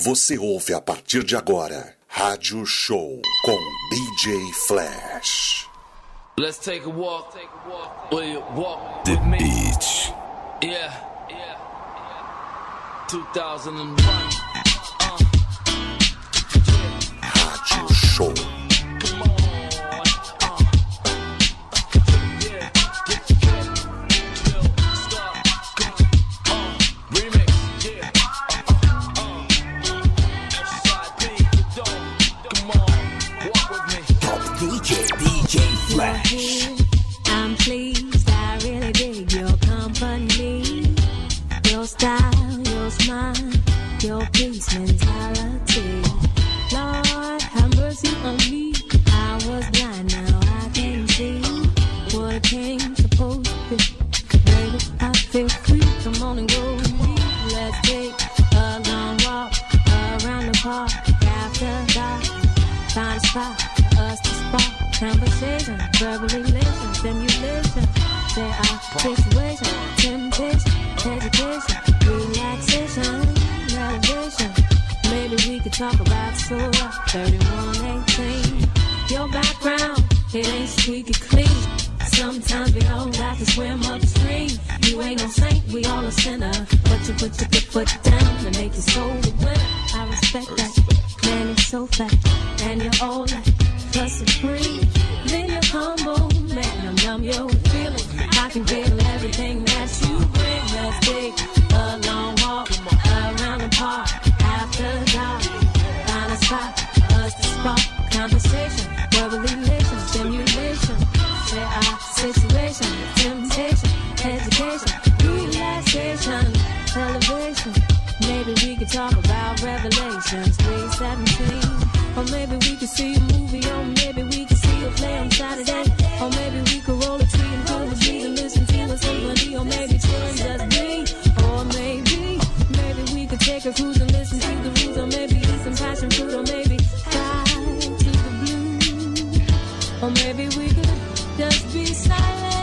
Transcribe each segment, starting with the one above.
Você ouve a partir de agora Rádio Show com DJ Flash. Let's take a walk. Will you walk The with me? Beach. Yeah. 2001. Rádio Show. Come on. Yeah. Get yo, start. Remix. Yeah. SIP. Come on. Walk with me. Top DJ Flash. I'm pleased, I really dig your company, your style, your smile, your peace mentality. Lord, have mercy on me. I was blind, now I can see what a king's supposed to be. Baby, I feel free. Come on and go with me. Let's take a long walk around the park after dark. Find a spot for us to spark conversation, verbal elation, stimulation. There are situations, temptation, education, relaxation, elevation. Maybe we could talk about Surah 31:18. Your background, it ain't squeaky clean. Sometimes we all got to swim upstream. You ain't no saint, we all a sinner. But you put your good foot down and make your soul the winner. I respect that. Man, you're so fat, and you're all like the supreme. Then you're humble, man, I'm numb your feelings. I can feel everything that you bring. Let's take a long walk around the park after dark. Find a spot for us to spark conversation, verbal elation, stimulation. Share our situation, temptation, education, relaxation, elevation. Maybe we could talk about Revelations 3:17. Or maybe we could see a movie, or maybe we could see a play on Saturday. Or maybe we could roll a tree and pull a tree and listen to a symphony. Or maybe children just me. Or maybe we could take a cruise and listen to the roots. Or maybe eat some passion fruit. Or maybe fly to the blue. Or maybe we could just be silent.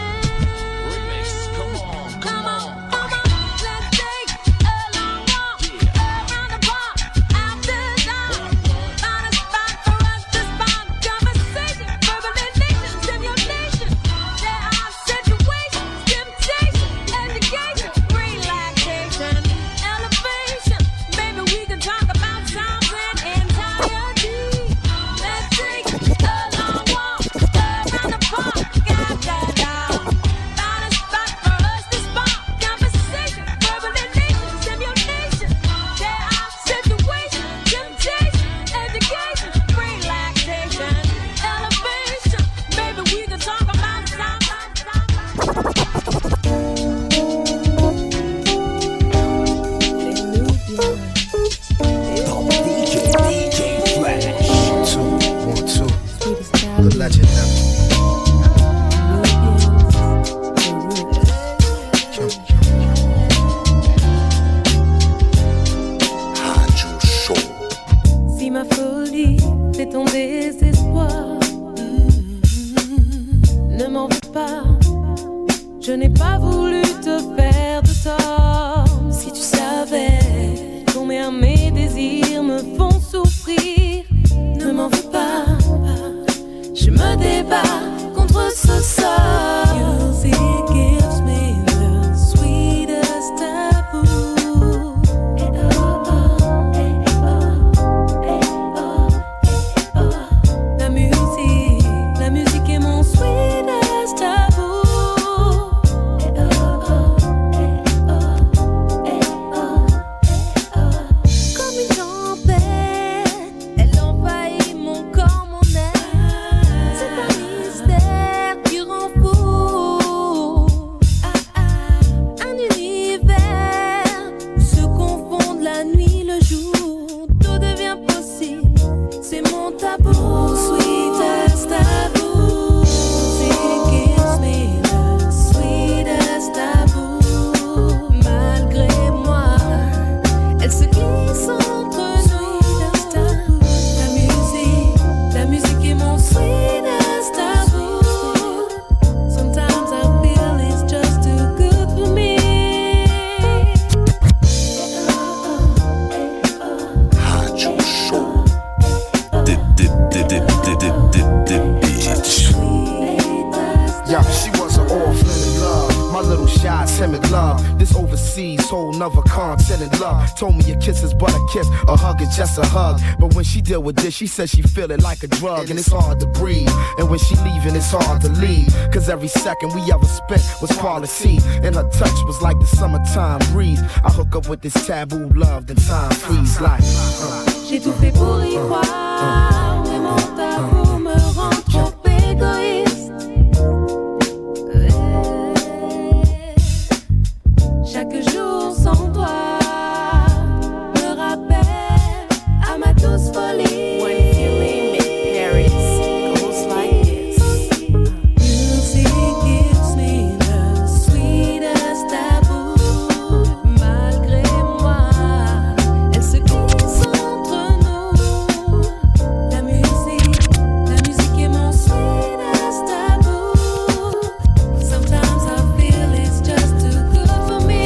Remix. Come on. Come on, let's take a long walk around the park after dark. Find a spot for us to spark conversation, verbal elation, stimulation. There are situations, temptation, education, relaxation, elevation. Maybe we can talk about sounds and entirety. Let's take a long walk around the park after dark. Find a spot for us to spark conversation, verbal elation, stimulation. There are situations, temptation, education, relaxation, elevation. Maybe we can talk about sound. Top DJ Flash. 1, 2, the legend now. Rádio Show. Si ma folie, c'est ton désespoir, ne m'en veux pas, je n'ai pas voulu te faire de tort. Si tu savais combien mes désirs me font souffrir, ne m'en veux pas, je me débat contre ce sort. Music gives me the sweetest taboo. La musique est mon sweetest taboo. Comme une tempête, elle envahit mon corps, mon être. C'est un mystère qui rend fou. Un univers où se confondent la nuit, le jour. Tout devient possible, c'est mon tabou. Sweetest taboo. Music gives me the sweetest taboo. Malgré moi, elle se glisse entre nous. La musique est mon sweetest taboo. Sometimes I feel it's just too good for me. whole nother content in love. Told me a kiss is but a kiss, a hug is just a hug. But when she deal with this, she says she feel it like a drug, and it's hard to breathe. And when she leaving, it's hard to leave, cause every second we ever spent was quality, and her touch was like the summertime breeze. I hook up with this taboo love, then time freeze like J'ai tout fait pour y croire, mais mon tabou me rend trop égoïste. Chaque jour sans toi me rappelle à ma douce folie. When feeling in Paris goes like this. Music gives me the sweetest taboo. Malgré moi, elle se glisse entre nous. La musique est mon sweetest taboo. Sometimes I feel it's just too good for me.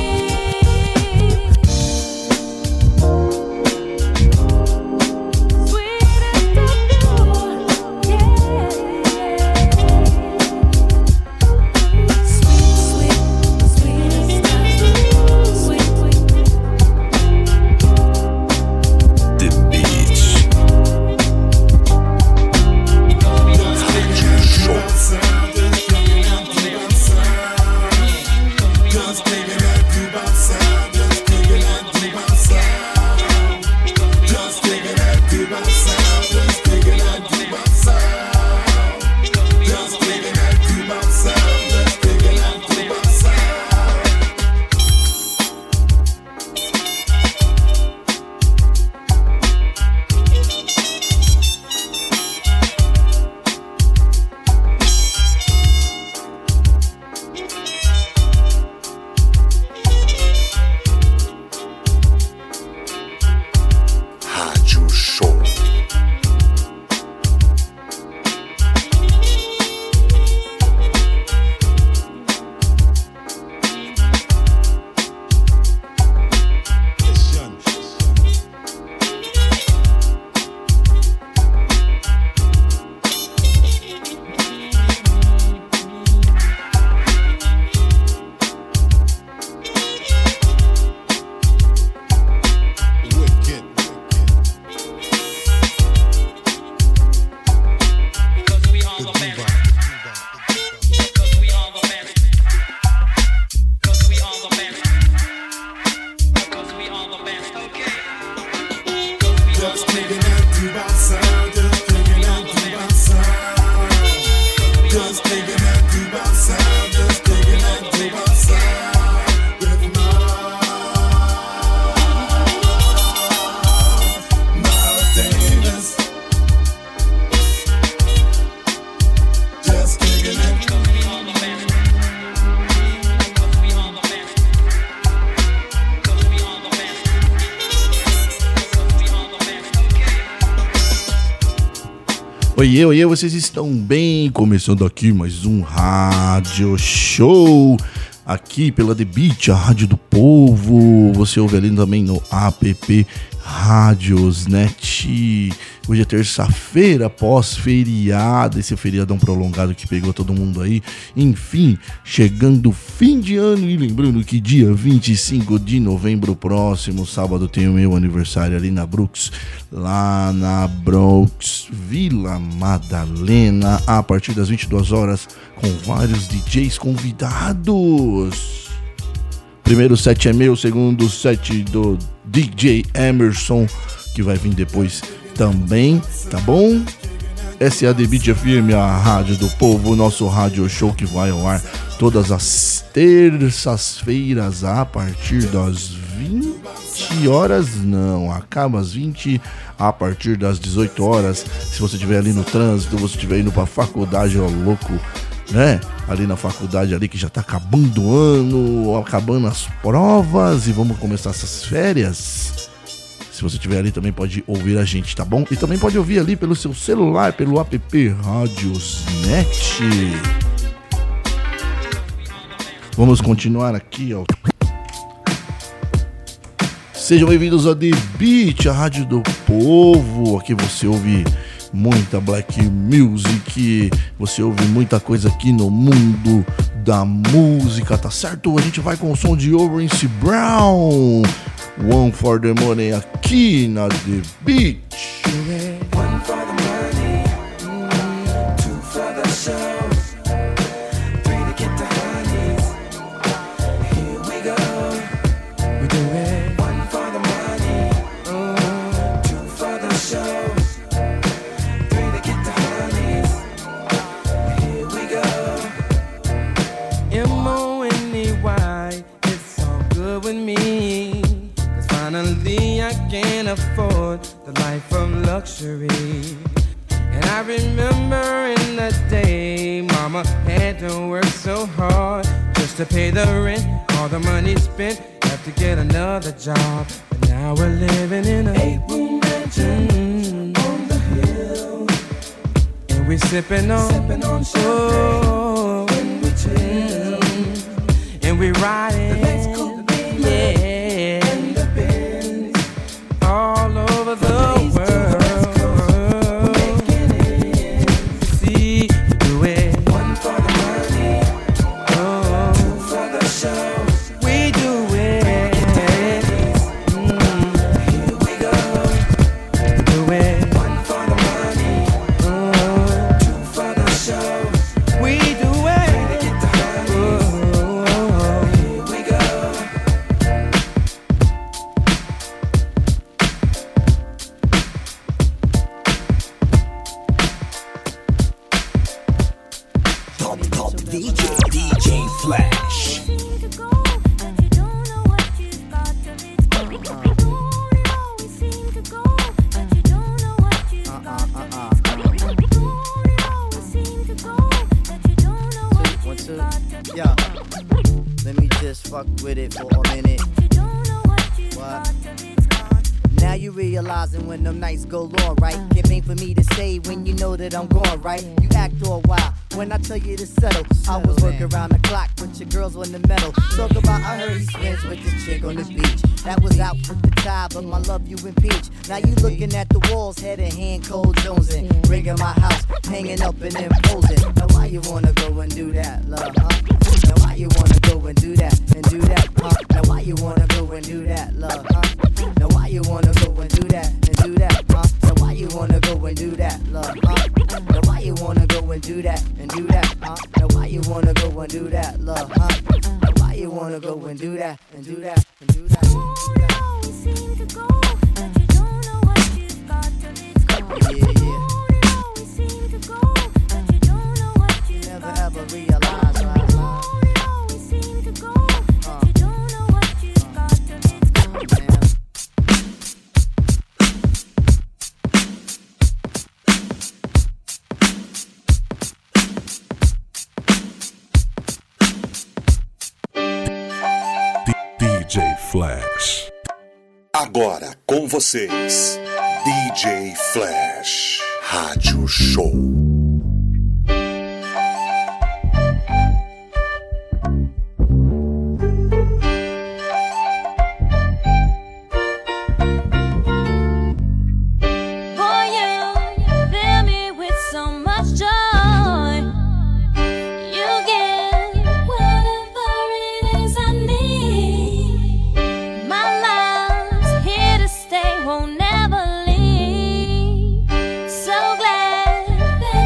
Oiê, oiê, vocês estão bem? Começando aqui mais um Rádio Show, aqui pela The Beat, a rádio do povo. Você ouve ali também no app Radiosnet. Hoje é terça-feira, pós-feriado, esse feriadão prolongado que pegou todo mundo aí. Enfim, chegando o fim de ano e lembrando que dia 25 de novembro, próximo sábado, tem o meu aniversário ali na Brooks, lá na Bronx, Vila Madalena, a partir das 22 horas, com vários DJs convidados. Primeiro set é meu, segundo set do DJ Emerson, que vai vir depois também, tá bom? Essa é a The Beat FM, a rádio do povo, nosso rádio show que vai ao ar todas as terças-feiras a partir das 20 horas, não, acaba às 20, a partir das 18 horas. Se você estiver ali no trânsito, você estiver indo pra faculdade, ó, louco, né? Ali na faculdade ali que já tá acabando o ano, acabando as provas e vamos começar essas férias. Se você estiver ali também pode ouvir a gente, tá bom? E também pode ouvir ali pelo seu celular, pelo app Radiosnet. Vamos continuar aqui, ó. Sejam bem-vindos a The Beat, a rádio do povo. Aqui você ouve muita black music, você ouve muita coisa aqui no mundo da música, tá certo? A gente vai com o som de Orange Brown, One for the Money, aqui na The Beach. One for the money, two for the show, three to get the honeys. Here we go. We do it. One for the money, two for the show, three to get the honeys. Here we go. M-O-N-E-Y, it's all good with me. Cause finally I can afford the life of luxury. And I remember in the day Mama had to work so hard just to pay the rent. All the money spent, have to get another job. But now we're living in a 8-room mansion on the hill. And we're sipping on champagne when we chill. And we're riding, yeah, and the Benz all over the world. See, we do it. One for the money, two for the show. We do it. Here we go. We do it. One for the money, two for the show. We do it. Here we go. Top DJ Flash. One, two, yeah. Let me just fuck with it for a minute. What? Now you realizing when them nights go long, right? It ain't for me to say when you know that I'm gone, right? You act all wild when I tell you to settle. I was working around the clock with your girls on the metal. Talk about I heard he spends with this chick on the beach. That was out with the tie, but my love you impeach. Now you looking at the walls, head in hand, cold jonesing. Rigging my house, hanging up and imposing. Now why you wanna go and do that, love, huh? Now why you wanna go and do that, huh? Now why you wanna go and do that, love, huh? Now why you wanna go and do that, huh? Now why you wanna go and do that, love, huh? Now why you wanna go and do that, huh? Now why you wanna go and do that, love, huh? Now why you wanna go and do that, and do that, and do that, and do that. Yeah, yeah. Never ever realize, right? DJ Flash. Agora com vocês, DJ Flash, Rádio Show. Won't never leave. So glad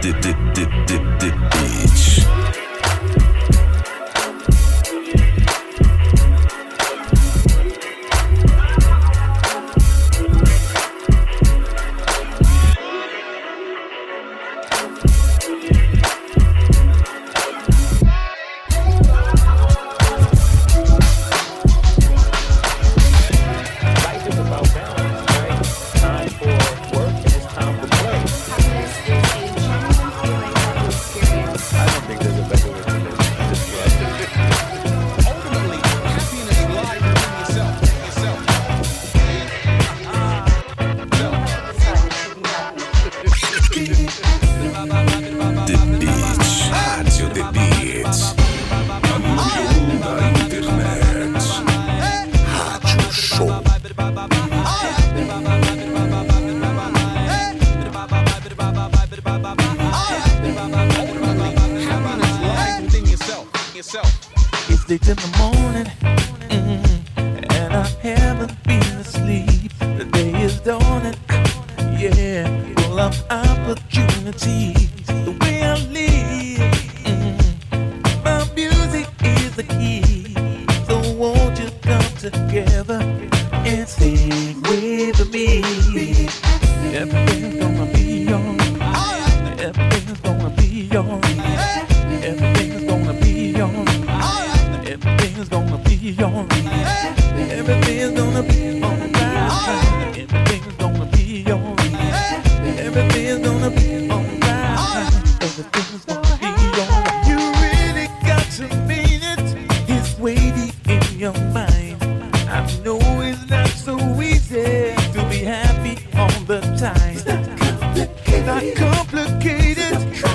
It's late in the morning, and I haven't been asleep. The day is dawning, yeah, full of opportunities. The way I live, my music is the key. So won't you come together and sing with me? Everything's gonna be alright. Everything's gonna be alright. Everything's gonna be alright. Everything's gonna be alright. Everything's gonna be alright. Everything's gonna be alright. Everything's gonna be alright. Everything's gonna be alright. You really got to mean it. It's way deep in your mind. I know it's not so easy to be happy all the time. It's not complicated.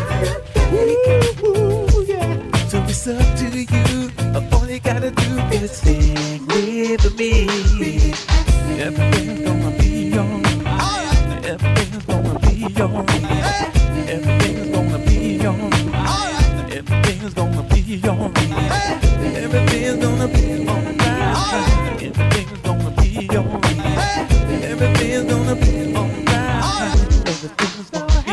Ooh, yeah. So it's up to you. All you gotta do is sing with me. Everything's gonna be alright. Everything's gonna be alright. Everything's gonna be alright. Everything's gonna be alright. Everything's gonna be alright. Everything's gonna be alright. Everything's gonna be alright. Everything's gonna be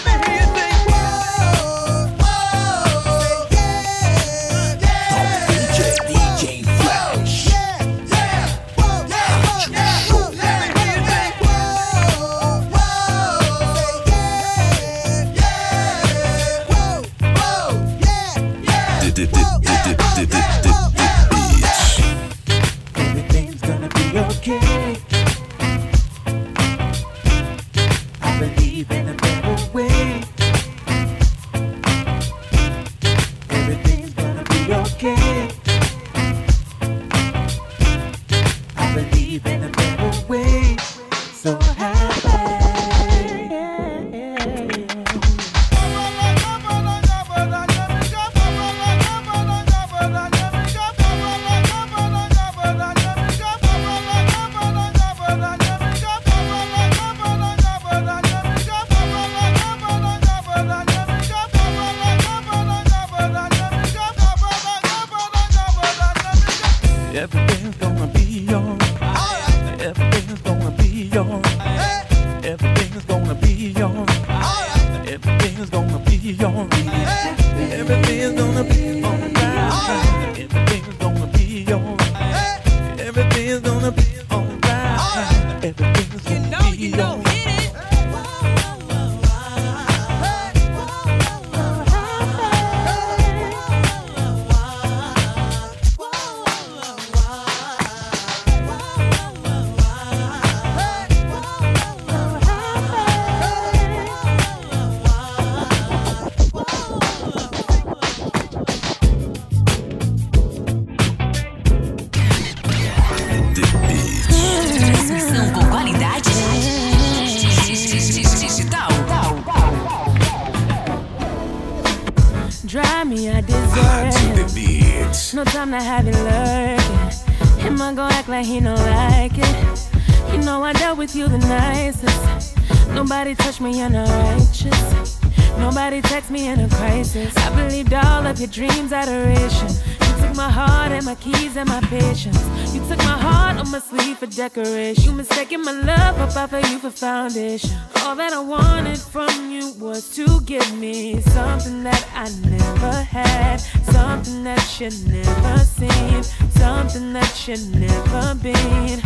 no time to have it lurking. Him I gon' act like he don't like it. You know I dealt with you the nicest. Nobody touched me, you're not righteous. Nobody text me in a crisis. I believed all of your dreams, adoration. You took my heart and my keys and my patience. You took my heart on my sleeve for decoration. You mistaken my love, I buy for you for foundation. All that I wanted from you was to give me something that I never had, something that you never seen, something that you never been.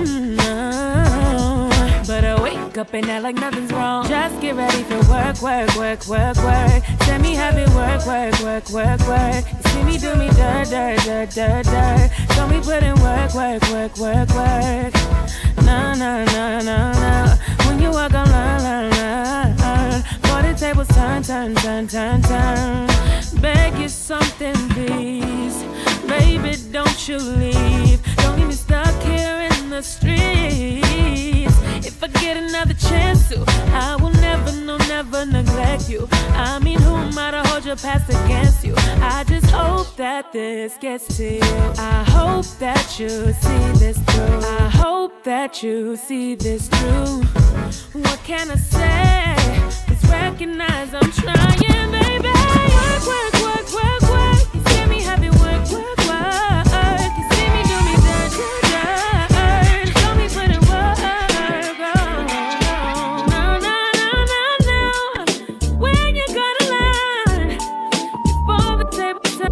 No. But I wake up and act like nothing's wrong. Just get ready for work, work, work, work, work. Let me have it work, work, work, work, work. You see me do me dirt, dirt, dirt, dirt, dirt. Show me put in work, work, work, work, work. Nah, nah, nah, nah, nah. When you walk on line, line, line. For the tables turn, turn, turn, turn, turn. Beg you something, please. Baby, don't you leave. Don't leave me stuck here in the streets. If I get another chance to, I will never, no, never neglect you. I mean, who am I to hold your past against you? I just hope that this gets to you. I hope that you see this through. I hope that you see this through. What can I say? Just recognize I'm trying, baby. Work, work, work, work, work. You see me have it work, work, work. You see me do me dirt, dirt, dirt. Show me put in work. No, no, no, no, no. When you gonna learn? Before the table turn.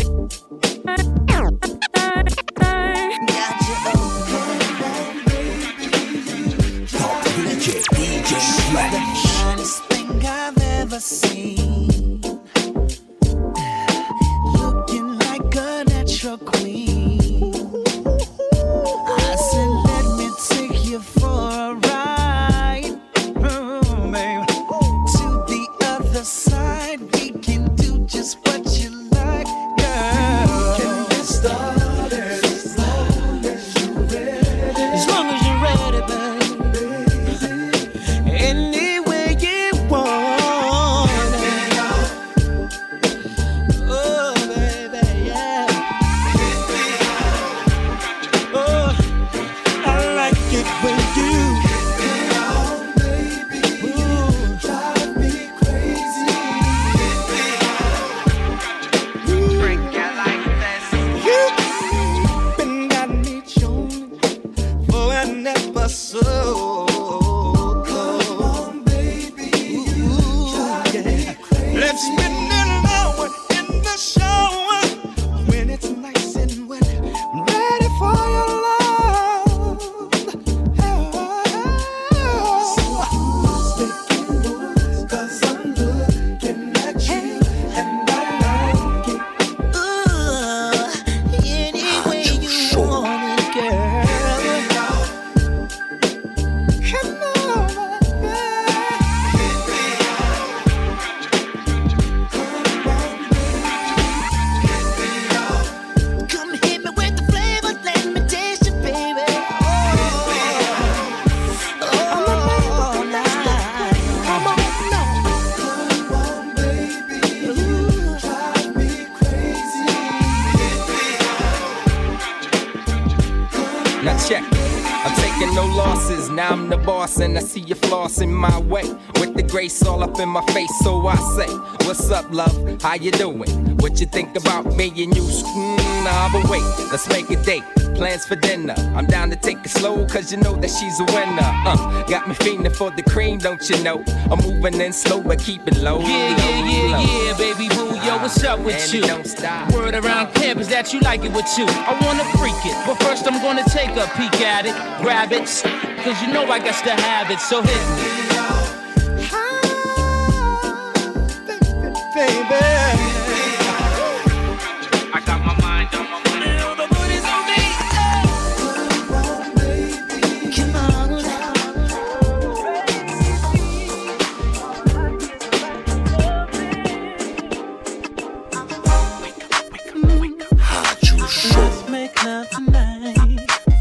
DJ Flash. The finest thing I've ever seen. Looking like a natural queen. I said, let me take you for a ride, babe. To the other side, we can do just what you like, girl. Can get started as long as you're ready. As long as you're ready, babe. Any way you want it. Oh, baby, yeah. Oh, I like it when you drive me crazy. You've been got me chewing for an episode. Let's spend an hour in the shower when it's nice and wet. I'm ready for your love. So who's making moves? 'Cause I'm looking at you and I like it. Ooh, any way you want it, girl. Come on, come hit me with the flavor, let me taste it, baby. Oh, night. Come on, baby. You drive me crazy. Now check it. I'm taking no losses, now I'm the boss and I see you flossing my way. With the grace all up in my face, so I say, what's up, love? How you doing? What you think about me and you? Nah, but wait, let's make a date. Plans for dinner. I'm down to take it slow, cause you know that she's a winner. Got me fiending for the cream, don't you know? I'm moving in slow, but keep it low. Yeah, baby boo, yo, what's up with and you? Don't stop. Word around campus that you like it with you. I wanna freak it, but first I'm gonna take a peek at it, grab it, cause you know I got to have it, so hit me. Baby. I got my mind on my money. The booty's on me. Come on. Rádio Show. Let's make love tonight.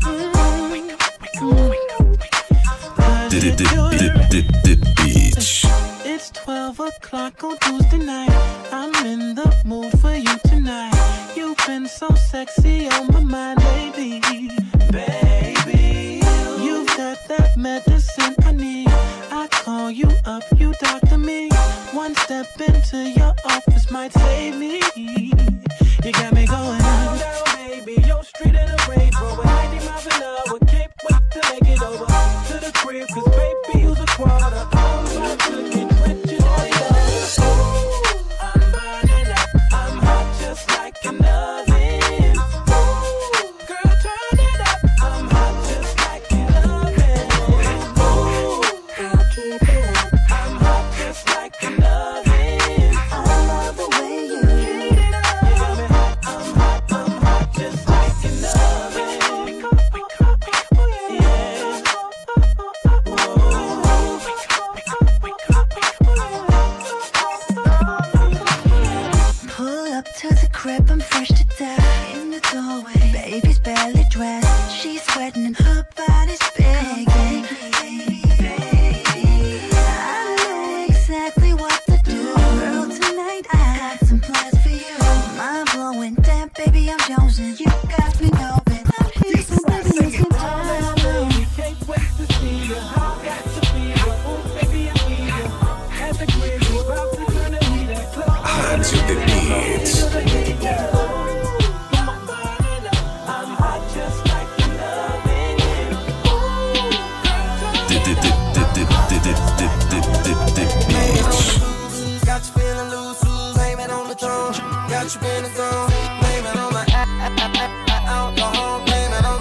Beach. It's 12 o'clock on Tuesday night. I'm in the mood for you tonight. You've been so sexy on my mind, baby. Baby, you've got that medicine I need. I call you up, you doctor me. One step into your office might save me. You got me going on. baby. Your street in a Range Rover, 90 miles an hour. Can't wait to make it over to the crib, cause baby, you's a quarter. I'm about to get rich and all. Ooh, I'm burning up. I'm hot just like an oven. Ooh, girl, turn it up. I'm hot just like an oven. Ooh, girl, keep it up. I'm hot just like an oven. I love the way you heat it up. You got me hot. I'm hot just like an oven. Pull up to the crib, I'm fresh to death. In the doorway, baby's barely dressed. She's sweating and her body's begging. I know exactly what to do. Girl, tonight I got some plans for you. Mind blowing, damn baby, I'm jonesing. You got me going. I'm here, so baby, you can tell. Can't wait to see you. How got to be you. Oh, baby, I need you. At the crib, we about to turn the heat up. Rádio The Beats. I'm hot just like an oven. Got you feeling loose, blame it on the throne. Got you in the zone, blame it on the alcohol, blame it on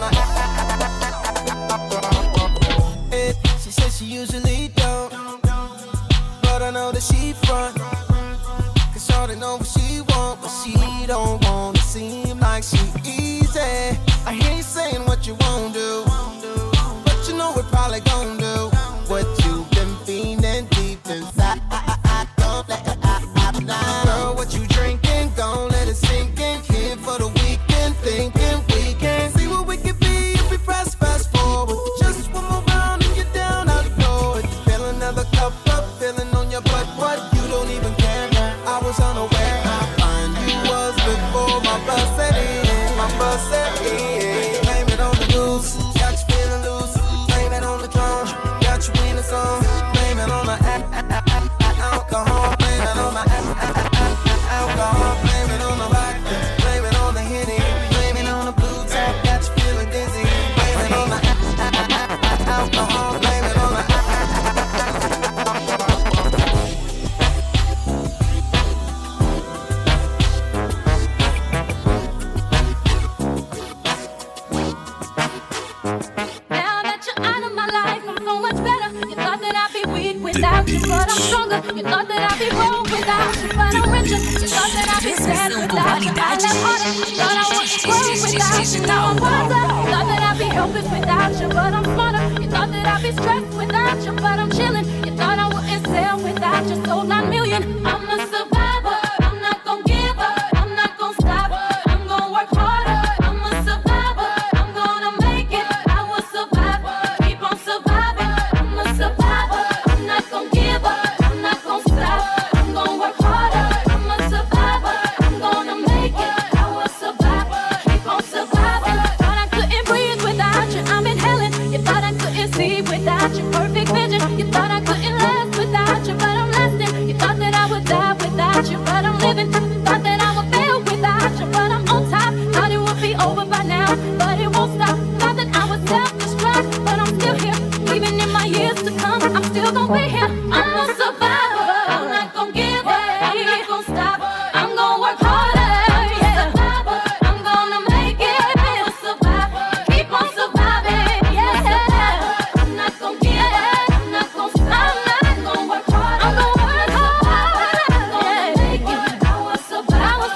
the. She says she usually don't, but I know that she front. Cause shorty know what she want, but she don't want to seem like she easy. I hear you saying what you won't do, but you know we're probably gon' do what you've been feeling deep inside. Don't let it out now. Girl, what you drinking? Gon' let it sink in. Here for the weekend, thinking we can see what we can be if we press fast forward. Just one more round and you're down, I know it. Fill another cup up, feeling on your butt. What? You don't even care. I was unaware how fine you was before my bus set in. My bus set in. Blame it on the goose. Got you feeling loose. Blame it on the drum. Got you in the zone. Blame it on the alcohol. Blame it on the alcohol. Blame it on the vodka. Blame it on the Henny. Blame it on the blue tap. Got you feeling dizzy. Blame it on the alcohol. Blame it on the Now that you're out of my life, I'm so much better. You thought that I'd be weak without you, but I'm stronger. You thought that I'd be broke without you, but I'm richer. You thought that I'd be sad without you, I left harder. You thought I wouldn't grow without you, now I'm wiser. You thought that I'd be helpless without you, but I'm smarter. You thought that I'd be stressed without you, but I'm chilling. You thought I wouldn't sell without you, sold 9 million. I'm a survivor. I'm not gon' give up. I'm not gon' stop. I'm gon' work harder. I'm a survivor. I'm gonna make it. I will survive. Keep on surviving. I'm a survivor. I'm not gon' give up. I'm not gon' stop. I'm gon' work harder. I'm a survivor. I'm gonna make it. I will survive. Keep on surviving. Thought I couldn't breathe without you. I'm inhaling. You thought I couldn't see without you. Perfect vision. You thought I couldn't last without you, but I'm lasting. You thought that I would die without you, but I'm living. Thought that I would fail without you, but I'm on top. Thought it would be over by now, but it won't stop. Thought that I would self-destruct, but I'm still here. Even in my years to come, I'm still gonna be here. I'm a survivor. I'm not gonna give up. I'm not gonna stop. I'm gonna work harder. Yeah. I'm gonna make it. I'm a survivor. Keep on surviving. Yeah. I'm not gonna give up. I'm not gonna stop. I'm gonna work harder. I'm gonna work harder. I'm gonna make it. I will survive. I will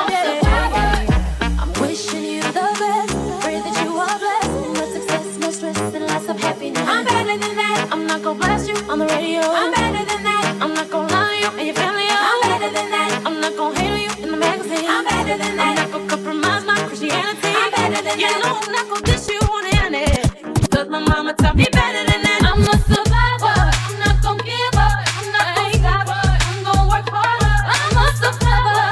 survive. I'm wishing you the best. Pray that you are blessed. No success, no stress, and lots of happiness. I'm better than that. I'm not gonna blast you on the radio. I'm better than that. I'm not gonna lie to you and your family. I'm better than that. I'm not gonna hate on you in the magazine. I'm better than that. I'm not gonna compromise my Christianity. I'm better than that. You know I'm not gonna diss you on the internet. Cause my mama taught me better than that. I'm a survivor. I'm not gonna give up. I'm not gonna stop. I'm gonna work harder. I'm a survivor.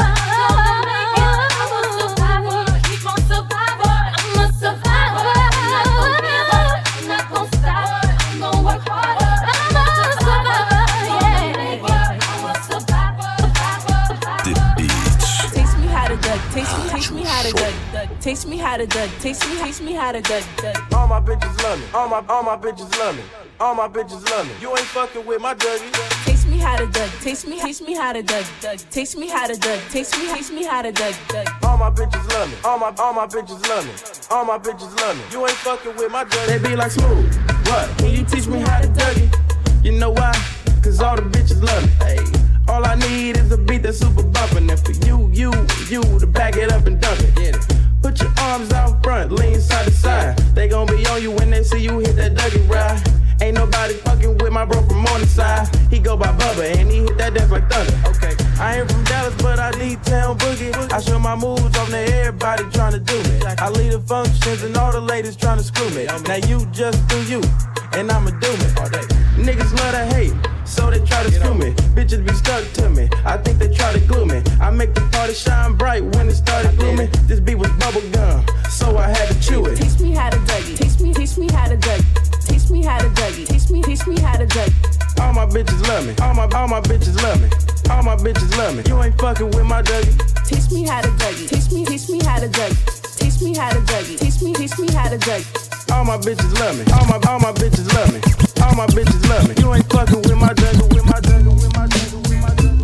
I'm a survivor. Keep on survivor. I'm a survivor. I'm not gonna give up. I'm not gonna stop. I'm gonna work harder. I'm a survivor. Yeah. I'm a survivor. The Beats. Teach me how to duck. Teach me how to duck. Teach me how to Dougie. Teach me how to Dougie. All my bitches love me. All my bitches love me. All my bitches love me. You ain't fucking with my Dougie. Teach me how to Dougie. Teach me how to Dougie. Teach me how to Dougie. Teach me how to Dougie. All my bitches love me. All my bitches love me. All my bitches love me. You ain't fucking with my Dougie. They be like Smooth. What? Can you teach me how to Dougie? You know why? Cause all the bitches love me. Hey. All I need is a beat that's super bumpin'. And for you to back it up and dump it. Get it. Put your arms out front, lean side to side. They gon' be on you when they see you hit that Dougie ride. Ain't nobody fucking with my bro from Morningside. He go by Bubba and he hit that dance like thunder. Okay, I ain't from Dallas, but I need town boogie. I show my moves on to everybody tryna do me. I lead the functions and all the ladies tryna screw me. Now you just do you, and I'ma do me. Niggas love to hate, so they try to screw me. Bitches be stuck to me, I think they try to glue me. I make the party shine bright when it started glooming. This beat was bubble gum, so I had to chew it. Teach me how to Dougie. Teach me how to Dougie. Teach me how to Dougie. Teach me how to Dougie. All my bitches love me. All my bitches love me. All my bitches love me. You ain't fucking with my Dougie. Teach me how to Dougie. Teach me how to Dougie. Teach me how to Dougie. Teach me how to Dougie. All my bitches love me. All my bitches love me. All my bitches love me. You ain't fucking with my Dougie. With my Dougie. With my Dougie. With my Dougie.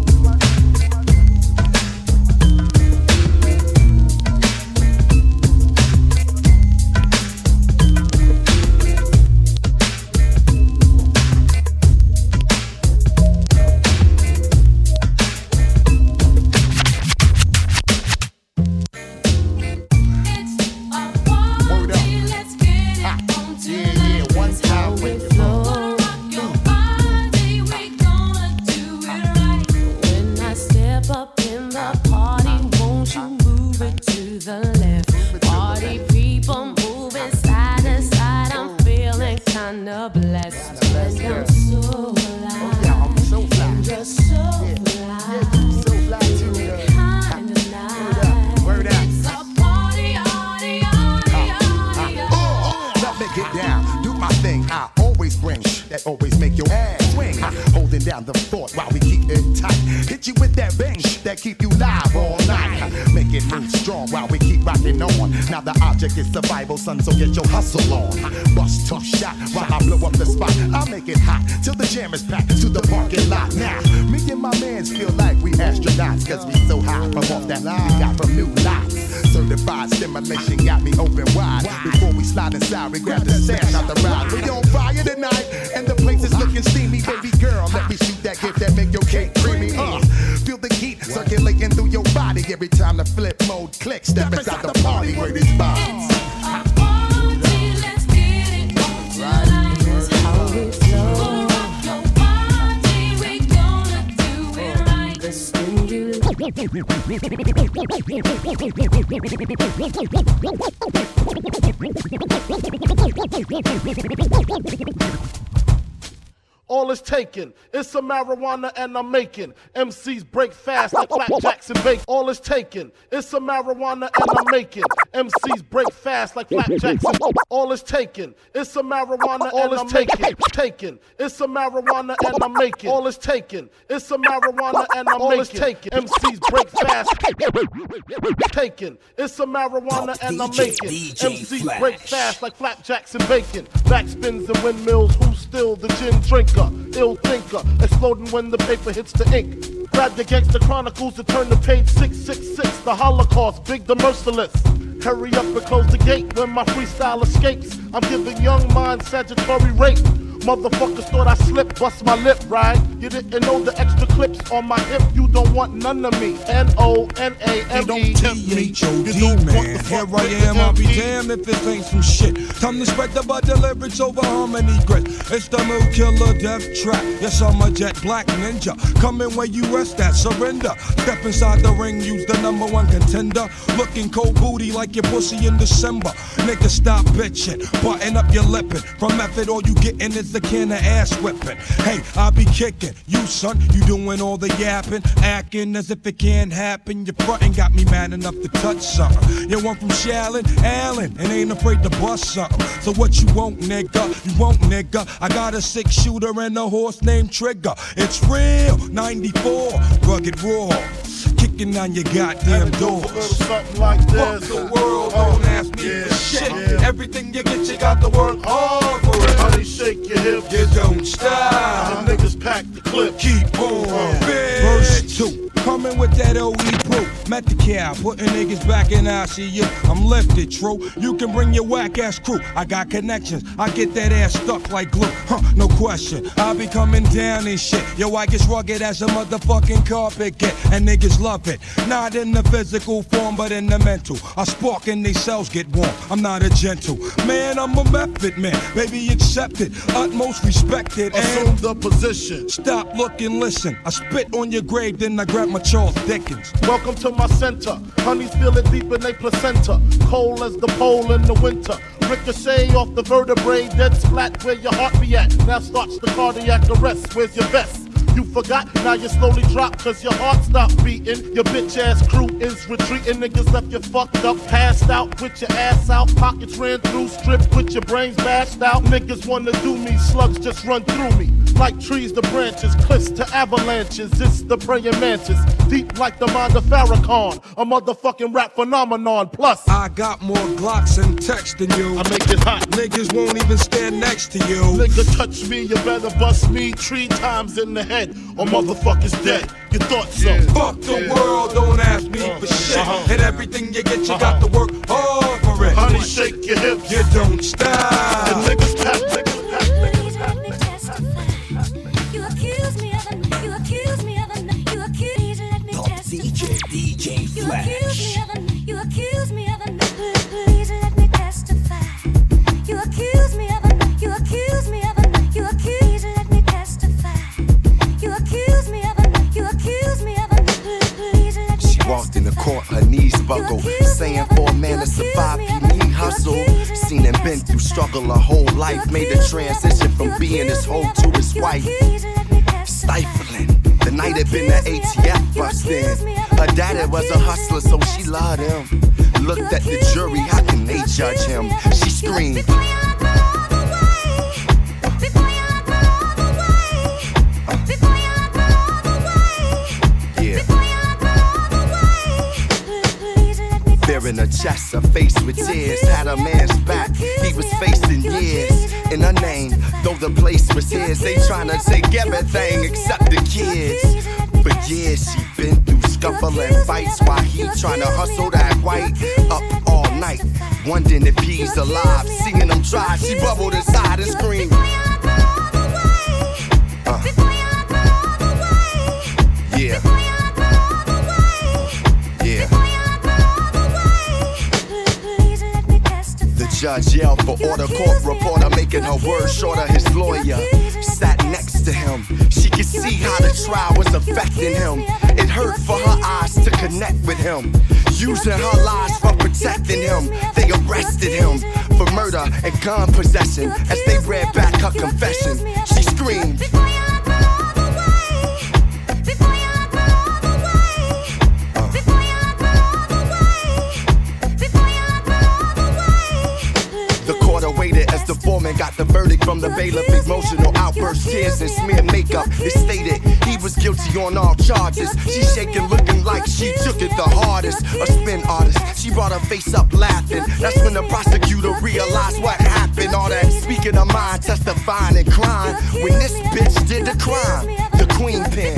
Always make your ass swing, holding down the fort while we keep it tight. Hit you with that bang that keep you live all night. Make it move strong while we keep rocking on. Now the object is survival, son, so get your hustle on. Bust tough shot while I blow up the spot. I'll make it hot till the jam is packed to the parking lot. Now me and my mans feel like we astronauts, cause we so high from off that line we got from new lots. Certified stimulation got me open wide. Before we slide inside, we grab the stash out the ride. We on fire tonight, and the place is looking steamy. Baby girl, let me shoot that gift that make your cake creamy. Feel the heat circulating through your body every time the flip mode clicks. Step inside the party where this vibes. All is taken, it's some marijuana and I'm making MCs break fast like flapjacks and bacon. All is taken, it's some marijuana and I'm making MCs break fast like flapjacks and bacon. All is taken, it's some marijuana and I'm taking. It's some marijuana and I'm making. All is taken, it's some marijuana and I'm making MCs break fast. Taken, it's some marijuana and I'm making MCs break fast like flapjacks and bacon. Backspins and windmills, who's still the gin drinker? Ill thinker, exploding when the paper hits the ink. Grab the Gangster Chronicles to turn to page 666. The Holocaust, Big the Merciless. Hurry up and close the gate when my freestyle escapes. I'm giving young minds statutory rape. Motherfuckers thought I slipped, bust my lip, right? You didn't know the extra clips on my hip. You don't want none of me. N-O-N-A-M-E. Don't T-H-O-D, man. Here I am, I'll be damned if this ain't some shit. Time to spread the butter lyrics over harmony grit. It's the Mood Killer Death Trap. Yes, I'm a jet black ninja. Coming where you rest at, surrender. Step inside the ring, use the #1 contender. Looking cold booty like your pussy in December. Nigga, stop bitching. Button up your lippin'. From method, all you gettin' is a can of ass whipping. Hey, I be kicking. You, son, you doing all the yapping, acting as if it can't happen. Your frontin' got me mad enough to touch something. You want from Shallon, Allen, and ain't afraid to bust something. So what you want, nigga? You want, nigga? I got a 6-shooter and a horse named Trigger. It's real, 94, rugged raw. Kicking on your goddamn doors. Something like this. Fuck the world, don't ask me for shit. Everything you get, you got to work hard for it. Honey, shake your hips. You don't stop. Niggas pack the clip. Keep on. Verse 2. Coming with that OE proof. Met the cow, putting niggas back in ICU. I'm lifted, true. You can bring your whack ass crew. I got connections. I get that ass stuck like glue. No question. I be coming down and shit. Yo, I get rugged as a motherfucking carpet get. And niggas love it. Not in the physical form, but in the mental. I spark and they cells get warm. I'm not a gentle man, I'm a method man. Baby, accept it. Utmost respected. Assume the position. Stop, look, and listen. I spit on your grave, then I grab my Charles Dickens. Welcome to my center. Honeys feel it deep in their placenta. Cold as the pole in the winter. Ricochet off the vertebrae, dead splat where your heart be at. Now starts the cardiac arrest. Where's your vest? You forgot, now you slowly drop cause your heart stopped beating. Your bitch ass crew is retreating. Niggas left you fucked up, passed out with your ass out. Pockets ran through, stripped with your brains bashed out. Niggas wanna do me, slugs just run through me. Like trees to branches, cliffs to avalanches. It's the praying mantis, deep like the mind of Farrakhan. A motherfucking rap phenomenon. Plus, I got more Glocks and text than you. I make it hot. Niggas won't even stand next to you. Nigga touch me, you better bust me 3 times in the head, or motherfuckers dead. You thought so? Fuck the world, don't ask me for shit. And everything you get, you got to work hard for it. Honey, shake your hips. You don't stop. And niggas pack, niggas pack, niggas pack. DJ Flash. You accuse me of a please let me testify. You accuse me of a, you accuse me of a, you accuse let me testify. You accuse me of a, you accuse me of a please let me testify. She walked in the court, her knees buckled, saying for a man to survive, he need hustle. Seen him been through struggle her whole life, made the transition from being his hoe to his wife. Stifling. The night had been the ATF bust in. Her daddy was a hustler, so she loved him. Looked at the jury, how can they judge him? She screamed. Fear in her chest, her face with tears, had a man's back, he was facing years. In her name, though the place was his, they tryna take everything except the kids. For years she been through scuffling fights while he tryna hustle that white. Up all night, wondering if he's alive. Seeing him try, she bubbled inside and screamed. Yeah. Yeah. The judge yelled for order, court reporter making her words shorter. His lawyer sat next to him. She could see how the trial was affecting him. It hurt for her eyes to connect with him. Using her lies for protecting him. They arrested him for murder and gun possession. As they read back her confession, she screamed. The foreman got the verdict from the bailiff. Emotional outburst, tears and smeared makeup. It stated he was guilty on all charges. She shaking, looking like she took it the hardest. A spin artist, she brought her face up laughing. That's when the prosecutor realized what happened. All that speaking her mind, testifying and crying. When this bitch did the crime, the queen pin.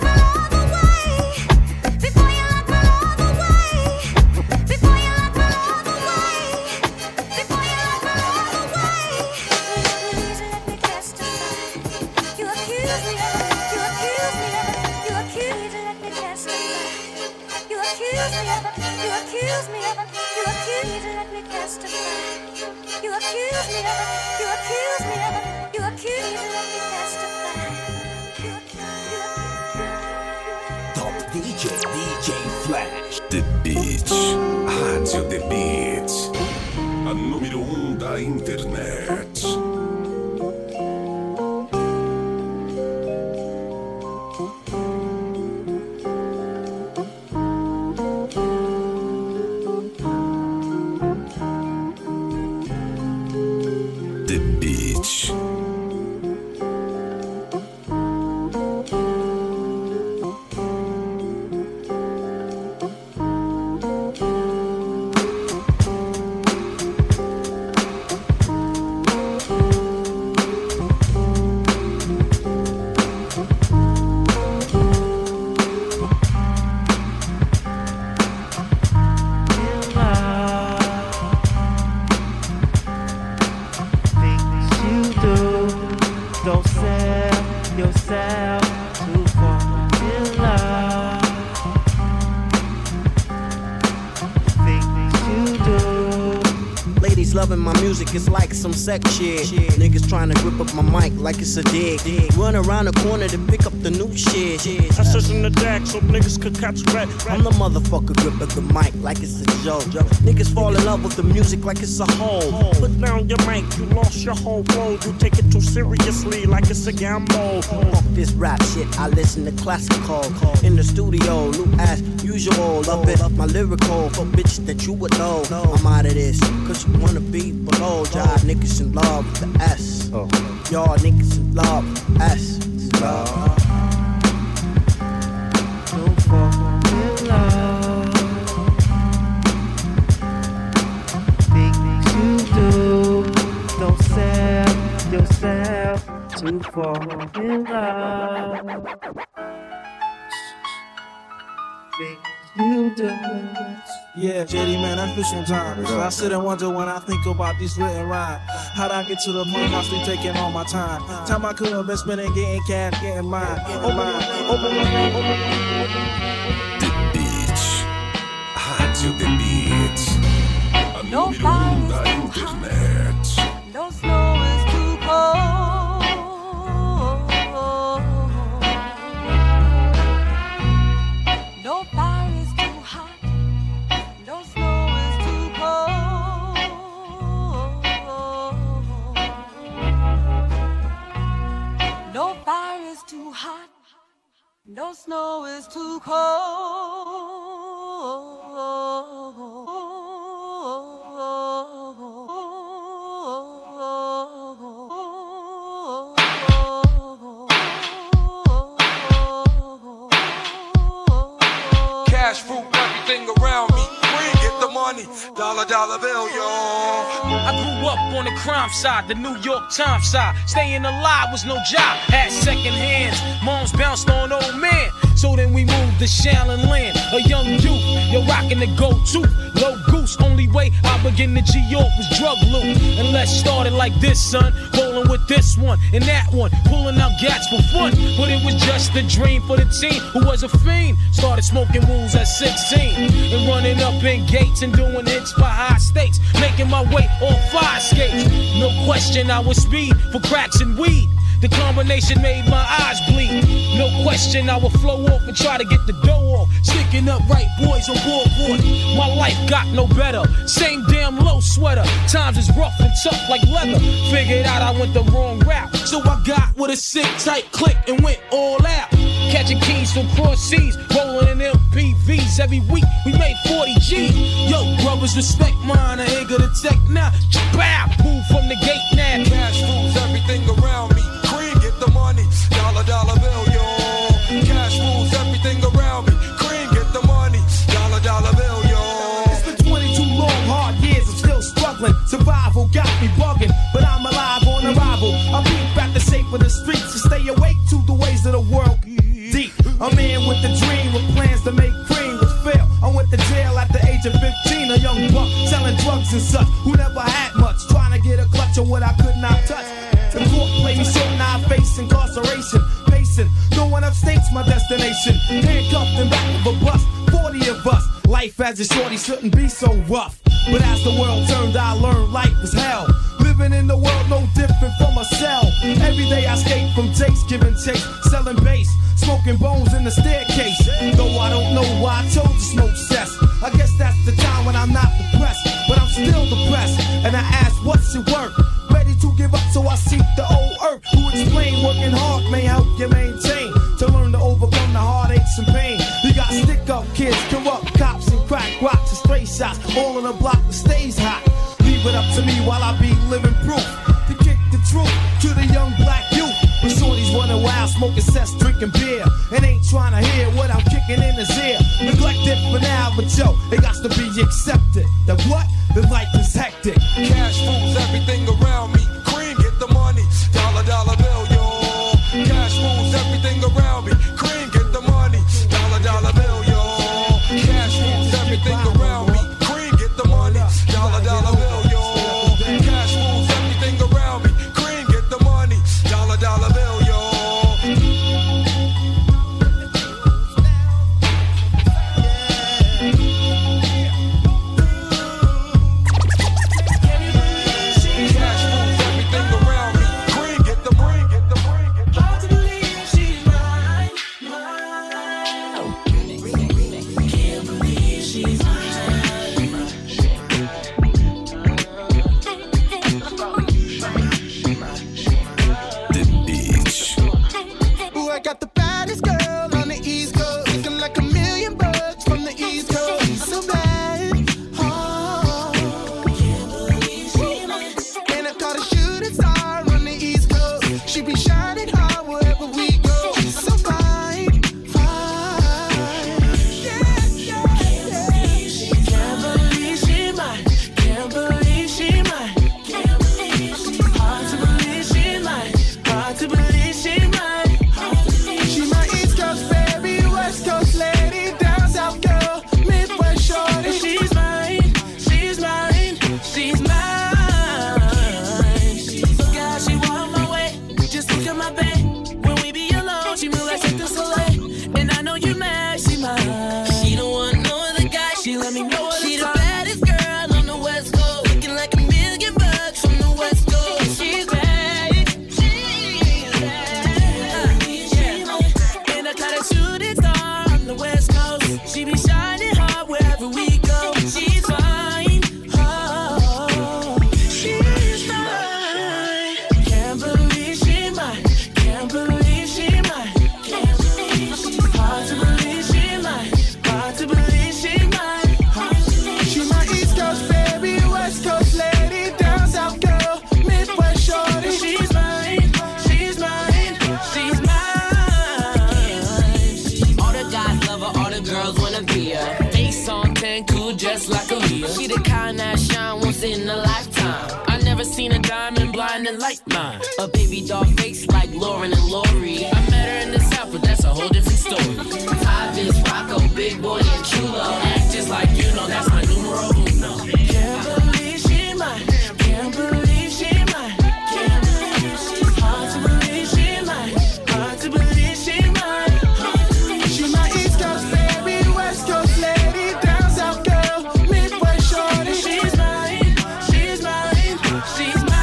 DJ Flash. The Beat, Rádio The Beat, a número 1 da internet. music is like some sex shit. Niggas trying to grip up my mic like it's a dig. Run around the corner to pick up the new shit. I search in the deck so niggas could catch red. I'm the motherfucker gripping the mic like it's a joke. Niggas fall in love with the music like it's a hole. Put down your mic, you lost your whole road. You take it too seriously like it's a gamble. Fuck this rap shit, I listen to classical. In the studio, new as usual. Love it up my lyrical for bitches that you would know. I'm out of this, cause you wanna be below. Y'all niggas in love with the S. Y'all niggas in love with the S. Don't fall in love. Things you do, don't sell yourself to fall in love. Things you do. Yeah, JD, man, I feel sometimes. I sit and wonder when I think about these written rhymes. How'd I get to the point I still taking all my time? Time I could have been spending getting cash, getting mine. Oh my, The beach. Radio The Beach. No fire is too hot. No snow is too cold. No fire is too hot. No snow is too cold. No fire is too hot. No snow is too cold. Cash, fruit, everything around me. Green, get the money. Dollar bill, y'all. I grew up on the crime side, the New York Times side. Staying alive was no job, had second hands. Moms bounced on old man. So then we moved to Shaolin Land, a young youth. You're rocking the go-to, low goose. Only way I begin to G-York was drug loot. And let's start it like this, son. Rolling with this one and that one, pulling out gats for fun. But it was just a dream for the teen who was a fiend. Started smoking wools at 16 and running up in gates and doing hits for high stakes. Making my way on fire skates. No question I was speed for cracks and weed. The combination made my eyes bleed. No question I would flow off and try to get the dough off. Sticking up right boys on board. My life got no better. Same damn low sweater. Times is rough and tough like leather. Figured out I went the wrong route. So I got with a sick tight click and went all out. Catching keys from cross seas, rolling in MPVs. Every week we made 40 G's. Yo, brothers, respect mine. I ain't gonna take now. Bow, move from the gate now. Cash rules everything around me. Cream, get the money. Dollar bill, y'all. Cash rules everything around me. Cream, get the money. Dollar bill, y'all. It's been 22 long, hard years. I'm still struggling. Survival got me bugging, but I'm alive on arrival. I peep at the shape of the streets and stay awake to the ways of the world. Deep. A man with a dream with plans to make cream was fail. I went to jail at the age of 15, a young buck selling drugs and such who never had much, trying to get a clutch of what I could not touch. The court played me so now I face incarceration. Pacing, no one upstate's my destination. Handcuffed in back of a bus, 40 of us. Life as a shorty shouldn't be so rough. But as the world turned, I learned life was hell. Living in the world no different from a cell. Every day I skate from Jake's, giving chase, selling bass, smoking bones in the staircase. Though I don't know why I chose to smoke cess. I guess that's the time when I'm not depressed, but I'm still depressed. And I ask, what's it worth? Ready to give up, so I seek the old earth. Who explain working hard may help you maintain. To learn to overcome the heartaches and pain. You got stick-up kids, corrupt cops, and crack rocks and stray shots. All in a block that stays hot. Leave it up to me while I be living proof. To kick the truth to the young black youth. When shorties running wild, smoking cess, drinking beer. And ain't trying to hear what I'm kicking in his ear. Neglected for now, but yo, it got to be accepted. The what? The life is hectic. Cash rules everything around me. Cream, get the money. Dollar bill, y'all. Cash rules everything around me. Cream, get the money. Dollar bill, y'all. Cash rules everything around me. Cream, get the money. Dollar bill, y'all. Cash rules everything around me. Cream, get the money. Dollar bill, y'all. She be shining hard wherever we go. She's so fine, fine. Yeah, yeah, yeah. Can't believe she mine. Can't believe she mine. Can't believe she mine. Hard to believe she mine. Hard to believe she mine. She my East Coast baby, West Coast lady, down South girl, Midwest shorty. She's mine. She's mine. She's mine. Look at how she walk my way. Just look at my babe. When we be alone, she move like Cirque du Soleil. And I know you mad, she mine. She don't want no other guy. She let me know all the time. She the baddest girl on the West Coast. Looking like $1 million from the West Coast. She's bad. She's bad. Yeah. And I got a shooting star on the West Coast. She be shining hard wherever we go. She's fine. Oh, she's mine. Can't believe she mine. Can't believe she mine. Can't believe she mine. Hard to believe she mine. Hard to believe she mine. She my East Coast baby, West Coast lady, down South girl, Midwest shorty. She's mine. She's mine. She's mine. All the guys love her. All the girls wanna be her. Face on 10, cool just like Aaliyah. She the kind that shine once in a lifetime. I never seen a diamond blinding like mine. A baby doll face like Lauren and Lori. I met her in the South, but that's a whole different story. Ty Vince, Rocco, Big Boy, and Chulo. Act just like you know, that's my numero uno. Can't believe she mine. Can't believe she mine. Can't believe she's hard to believe she mine. Hard to believe she mine. She my East Coast baby, West Coast lady, down South girl, Midwest shorty. She's mine. She's mine. She's mine.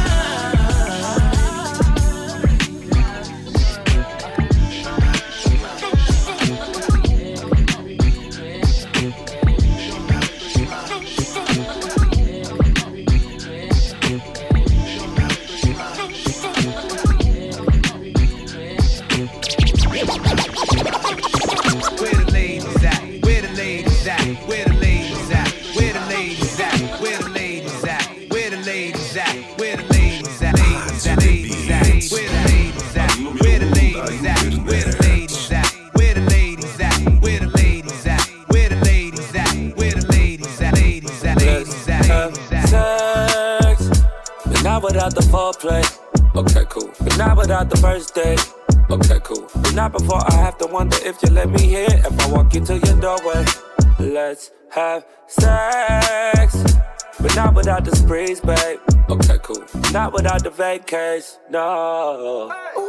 Where the ladies at? Where the ladies at? Where the ladies at? Where the ladies at? Where the ladies at? Where the ladies at? Where the ladies at? Ladies at? Ladies at? Where the ladies at? Where the ladies at? Where the ladies at? Where the ladies at? Where the ladies at? Where the ladies at? Where the ladies at? Ladies at? Ladies at? Sex, but not without the foreplay. Okay, cool. But not without the first date. Okay, cool. But not before I have to wonder if you let me in. If I walk you to your doorway, let's have sex. But not without the sprees, babe. Okay, cool. Not without the vacays, no.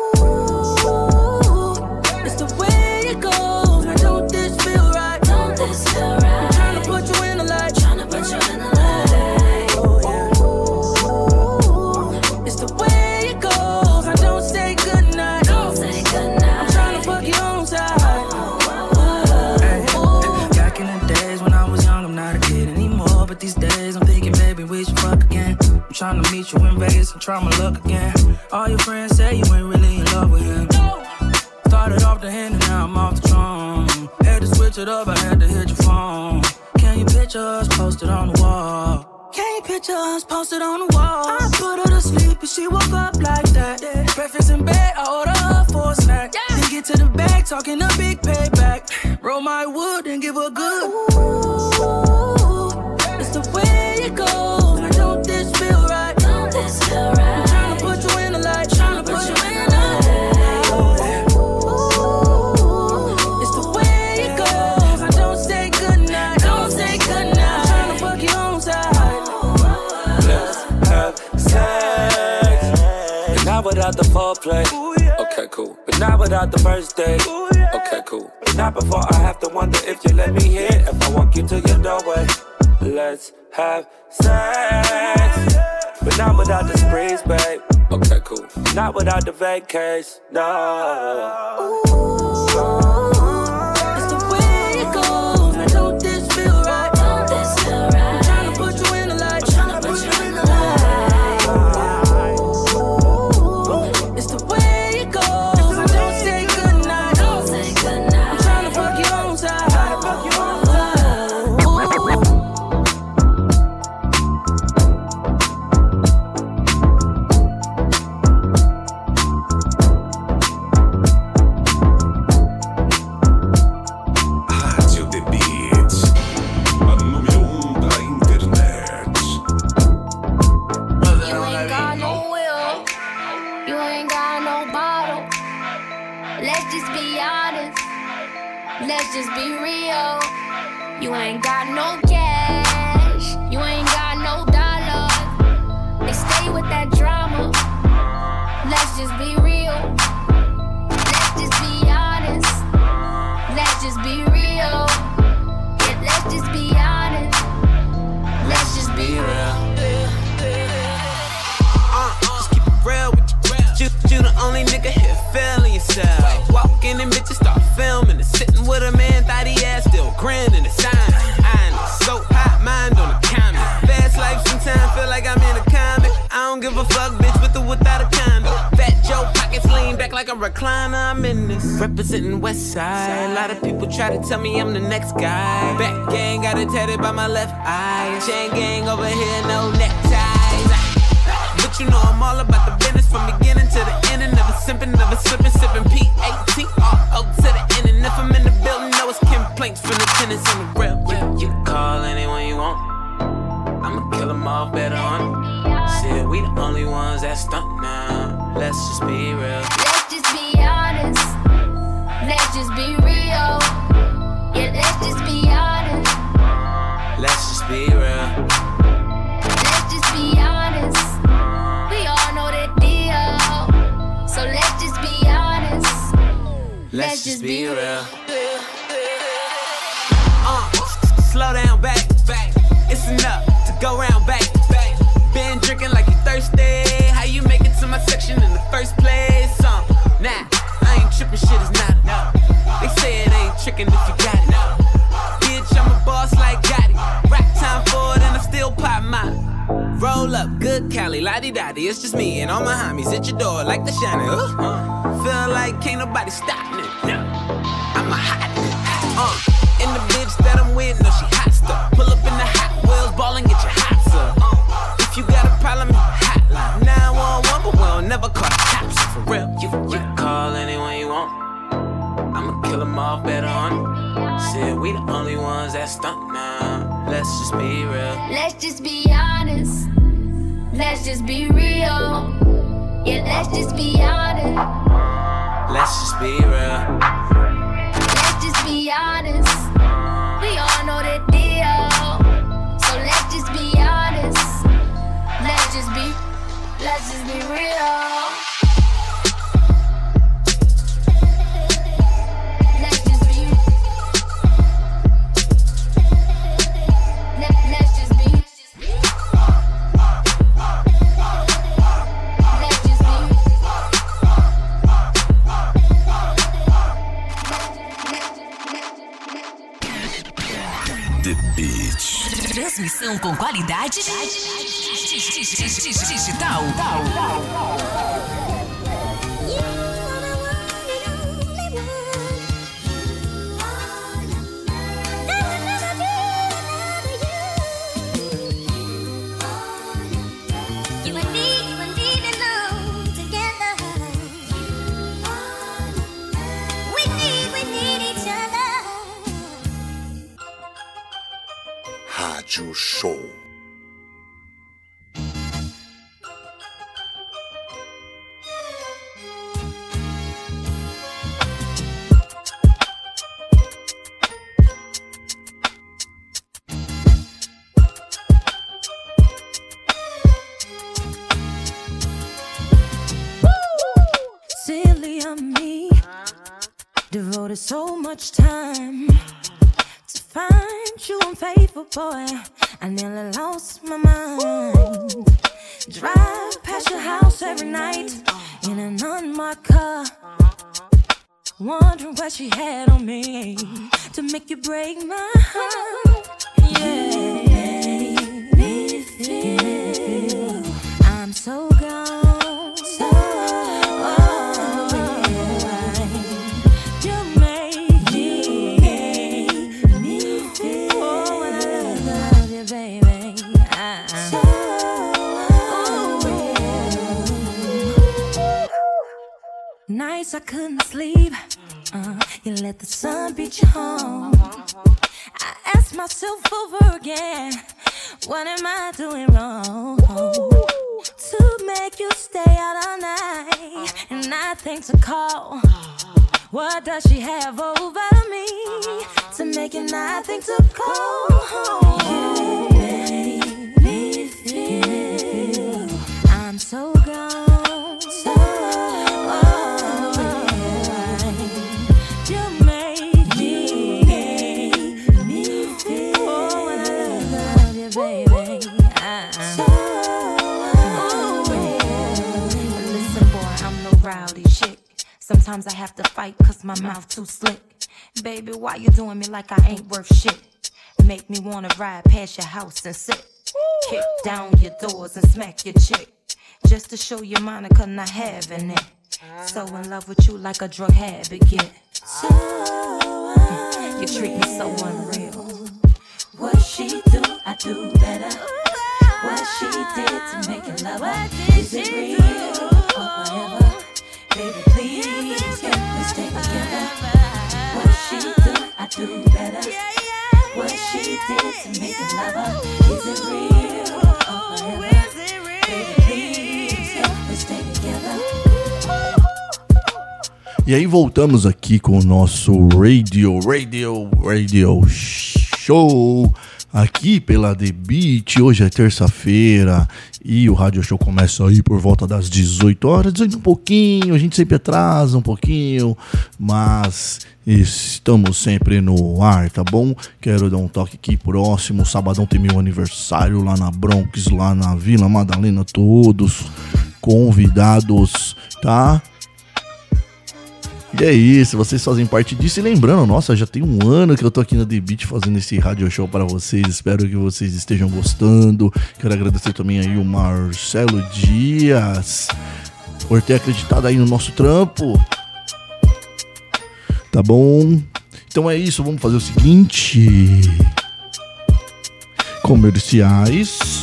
It's the way it goes. Man, don't this feel right? Don't this feel right? I'm trying to put you in the light. Trying to put you in the light. Oh, yeah. It's the way it goes. I don't say goodnight. Don't say goodnight. I'm trying to fuck you on side. Back in the days when I was young, I'm not a kid anymore. But these days I'm thinking, baby, we should fuck again. I'm trying to meet you in Vegas and try my luck again. All your friends say you ain't really in love with him. Started off the hand and now I'm off the drum. Had to switch it up, I had to hit your phone. Can you picture us posted on the wall? Can you picture us posted on the wall? I put her to sleep and she woke up like that. Breakfast in bed, I order her for a snack. Then get to the bag, talking a big payback. Roll my wood and give her good. Ooh, it's the way it goes. Man, don't this feel right? Don't this feel right? I'm trying to put you in the light. Trying to put you in the light. Not without the foreplay. Okay, cool. But not without the first date. Okay, cool. But not before I have to wonder if you let me in. If I walk you to your doorway, let's have sex. But not without the sprees, babe. Okay, cool. Not without the vacays, no. It's the way it goes. Man, don't this feel right? Don't this feel right? I'm trying to put you in the light. Trying to put you in the light. got no bottle. Let's just be honest. Let's just be real. You ain't got no cash. You ain't got no dollars. They stay with that drama. Let's just be real. Let's just be honest. Let's just be real. Yeah, let's just be honest. Let's just be real. Just keep it real with you. You the only nigga here feeling yourself. Walk in and bitches start filming and sitting with a man, thought he ass still grinning the sign. I know, so hot, mind on the comment. Fast life sometimes feel like I'm in a comic. I don't give a fuck, bitch, with or without a condom. Fat Joe pockets lean back like a recliner. I'm in this representing West Side. A lot of people try to tell me I'm the next guy. Back gang got it tatted by my left eye. Chain gang over here, no neckties. But you know I'm all about the business from beginning to the end. Never simping, never slipping, sipping P-A-T-R-O to the end. And if I'm in the building, no, it's complaints from the tenants on the real. You can call anyone you want. I'ma kill them all better on them. Said we the only ones that stunt now. Let's just be real. Let's just be honest. Let's just be real. Yeah, let's just be honest. Let's just be real. Let's just be honest. We all know that deal. So let's just be honest. Let's just be real. Slow down, back. It's enough to go round, back. Been drinking like you thirsty. How you make it to my section in the first place? Nah, I ain't tripping, shit is not enough. They say it ain't tricking if you got it. Bitch, I'm a boss like Gotti. Rack time for it and I still pop mine. Roll up, good Cali, la-di-da-di. It's just me and all my homies at your door like the shiner. Feel like can't nobody stop me. I'm a hot nigga. And the bitch that I'm with, no, she hot stuff. Pull up in the Hot Wheels, ball and get your hots up. If you got a problem, hotline 911, but we'll never call the cops for real. You can call anyone you want. I'ma kill them all better on them. Said we the only ones that stunt now. Let's just be real. Let's just be honest. Let's just be real. Yeah, let's just be honest. Let's just be real. Let's just be honest. We all know that deal. So let's just be honest. Let's just be real. Let's just be. Let's just be. The Beat. Transmissão com qualidade digital. Rádio Show. Silly of me, devoted so much time to find you unfaithful, boy. I nearly lost my mind. Drive past your house every night in an unmarked car, wondering what she had on me to make you break my heart. Yeah, you made me feel I'm so gone. Nights I couldn't sleep. You let the sun beat you home. I ask myself over again, what am I doing wrong? To make you stay out all night and nothing to call. What does she have over me to make it nothing to call? You make me feel I'm so gone, so alright. You make me feel oh, when I love you, baby. So listen, boy, I'm no rowdy chick. Sometimes I have to fight cause my mouth too slick. Baby, why you doing me like I ain't worth shit? Make me wanna ride past your house and sit. Kick down your doors and smack your chick. Just to show you Monica not having it. So in love with you like a drug habit get. So you treat me so unreal. What she do, I do better. What she did to make it love her. Is it real or forever? Baby, please, can we stay together? What she do, I do better. What she did to make it love her. Is it real or forever? Baby, please, can we stay together? E aí voltamos aqui com o nosso Radio Show aqui pela The Beat. Hoje é terça-feira e o Radio Show começa aí por volta das 18 horas, 18 um pouquinho, a gente sempre atrasa um pouquinho, mas estamos sempre no ar, tá bom? Quero dar um toque aqui próximo, sabadão tem meu aniversário lá na Bronx, lá na Vila Madalena, todos convidados, tá? E é isso, vocês fazem parte disso. E lembrando, nossa, já tem um ano que eu tô aqui na The Beat fazendo esse Radio Show para vocês. Espero que vocês estejam gostando. Quero agradecer também aí o Marcelo Dias por ter acreditado aí no nosso trampo. Tá bom? Então é isso, vamos fazer o seguinte. Comerciais.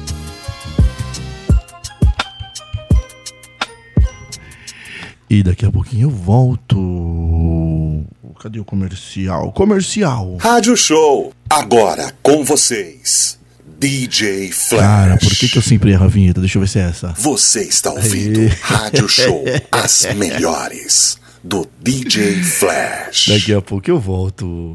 E daqui a pouquinho eu volto. Cadê o comercial? Rádio Show, agora com vocês, DJ Flash. Cara, por que eu sempre erro a vinheta? Deixa eu ver se é essa. Você está ouvindo Rádio Show, as melhores do DJ Flash. Daqui a pouco eu volto.